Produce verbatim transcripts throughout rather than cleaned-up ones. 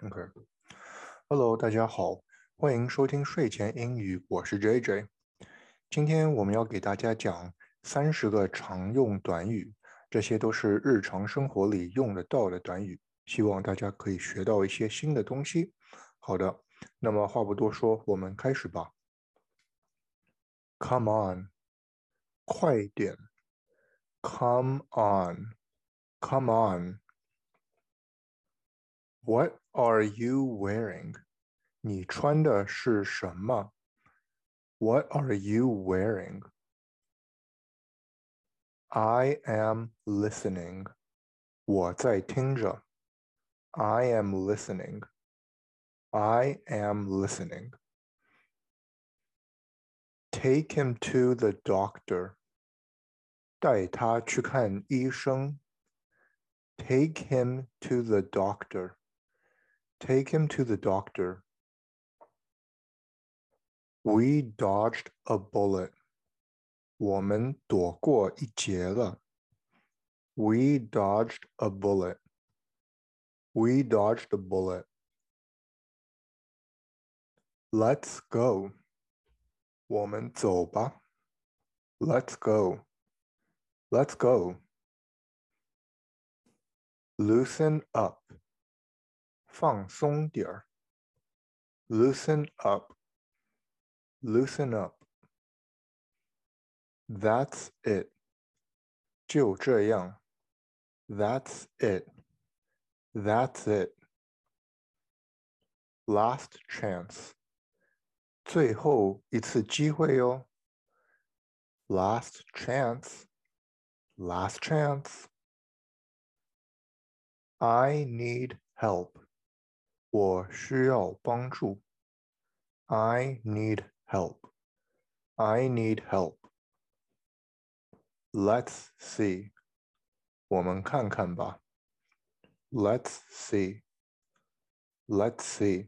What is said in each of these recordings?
OK，Hello，大家好，欢迎收听睡前英语，我是 J J。今天我们要给大家讲三十个常用短语，这些都是日常生活里用得到的短语，希望大家可以学到一些新的东西。好的，那么话不多说，我们开始吧。Come on，快一点。Come on，Come on。What are you wearing？你穿的是什么？What are you wearing? I am listening. 我在听着。I am listening. I am listening. Take him to the doctor. 带他去看医生。Take him to the doctor. Take him to the doctor. We dodged a bullet. 我们躲过一劫了。We dodged a bullet. We dodged a bullet. Let's go. 我们走吧。Let's go. Let's go. Loosen up. 放松点儿。Loosen up. Loosen up. That's it. 就这样。That's it. That's it. Last chance. 最后一次机会哟。Last chance. Last chance. I need help. 我需要帮助。I need help. I need help. Let's see. 我们看看吧。Let's see. Let's see.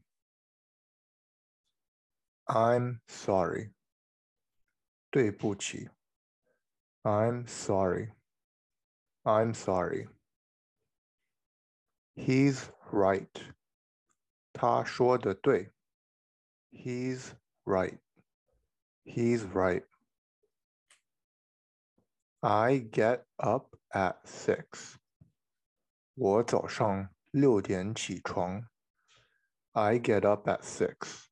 I'm sorry. 对不起。I'm sorry. I'm sorry. He's right. 他说的对。He's right. He's right. I get up at six. 我早上六点起床。I get up at six.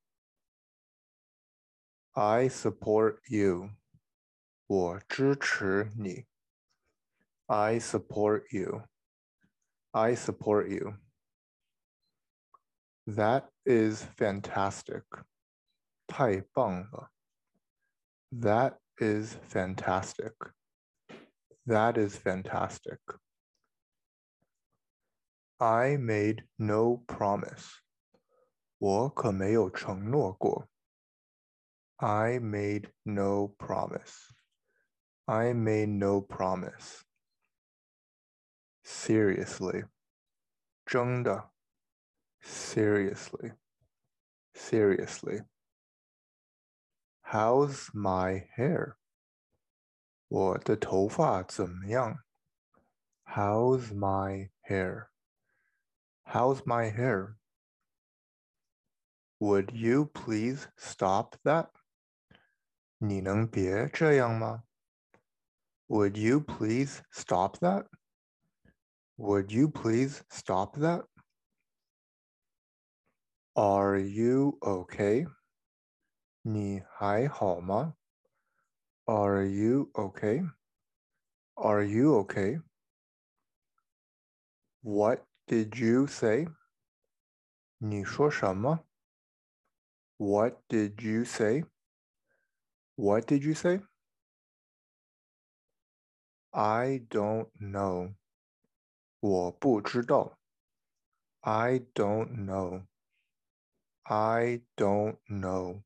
I support you. 我支持你。I support you. I support you. That is fantastic. 太棒了。That is fantastic. That is fantastic. I made no promise. 我可没有承诺过。I made no promise. I made no promise. Seriously. 真的。Seriously. Seriously. How's my hair? 我的头发怎么样？ How's my hair? How's my hair? Would you please stop that? 你能别这样吗？ Would you please stop that? Would you please stop that? Are you okay? 你还好吗？ Are you okay? Are you okay? What did you say? 你说什么？ What did you say? What did you say? I don't know. 我不知道。I don't know. I don't know.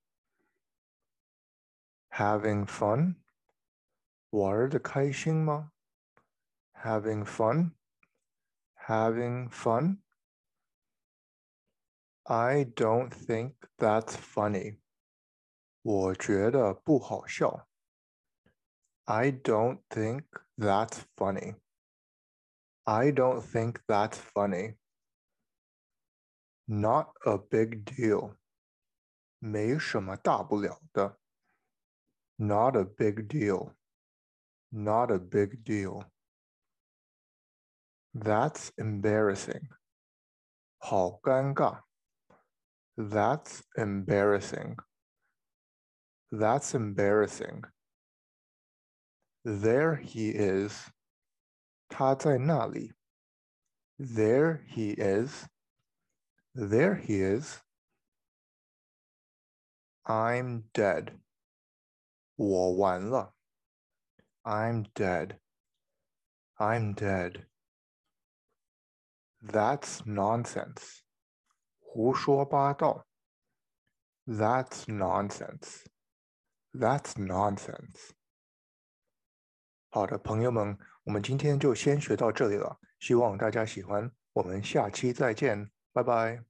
Having fun? 玩得开心吗？ Having fun? Having fun? I don't think that's funny. 我觉得不好笑。I don't think that's funny. I don't think that's funny. Not a big deal. 没什么大不了的。Not a big deal. Not a big deal. That's embarrassing. 好尴尬。That's embarrassing. That's embarrassing. There he is. 他在那里。There he is. There he is. I'm dead. 我完了。I'm dead. I'm dead. That's nonsense. 胡说八道。That's nonsense. That's nonsense. 好的，朋友们，我们今天就先学到这里了，希望大家喜欢，我们下期再见，拜拜。